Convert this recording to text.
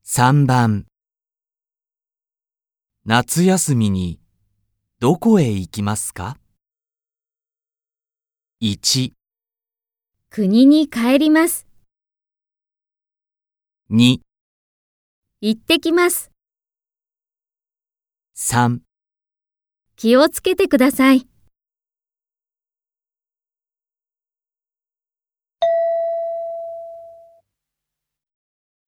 3番夏休みにどこへ行きますか？ 1、 国に帰ります。 2、 行ってきます。 3 気をつけてください。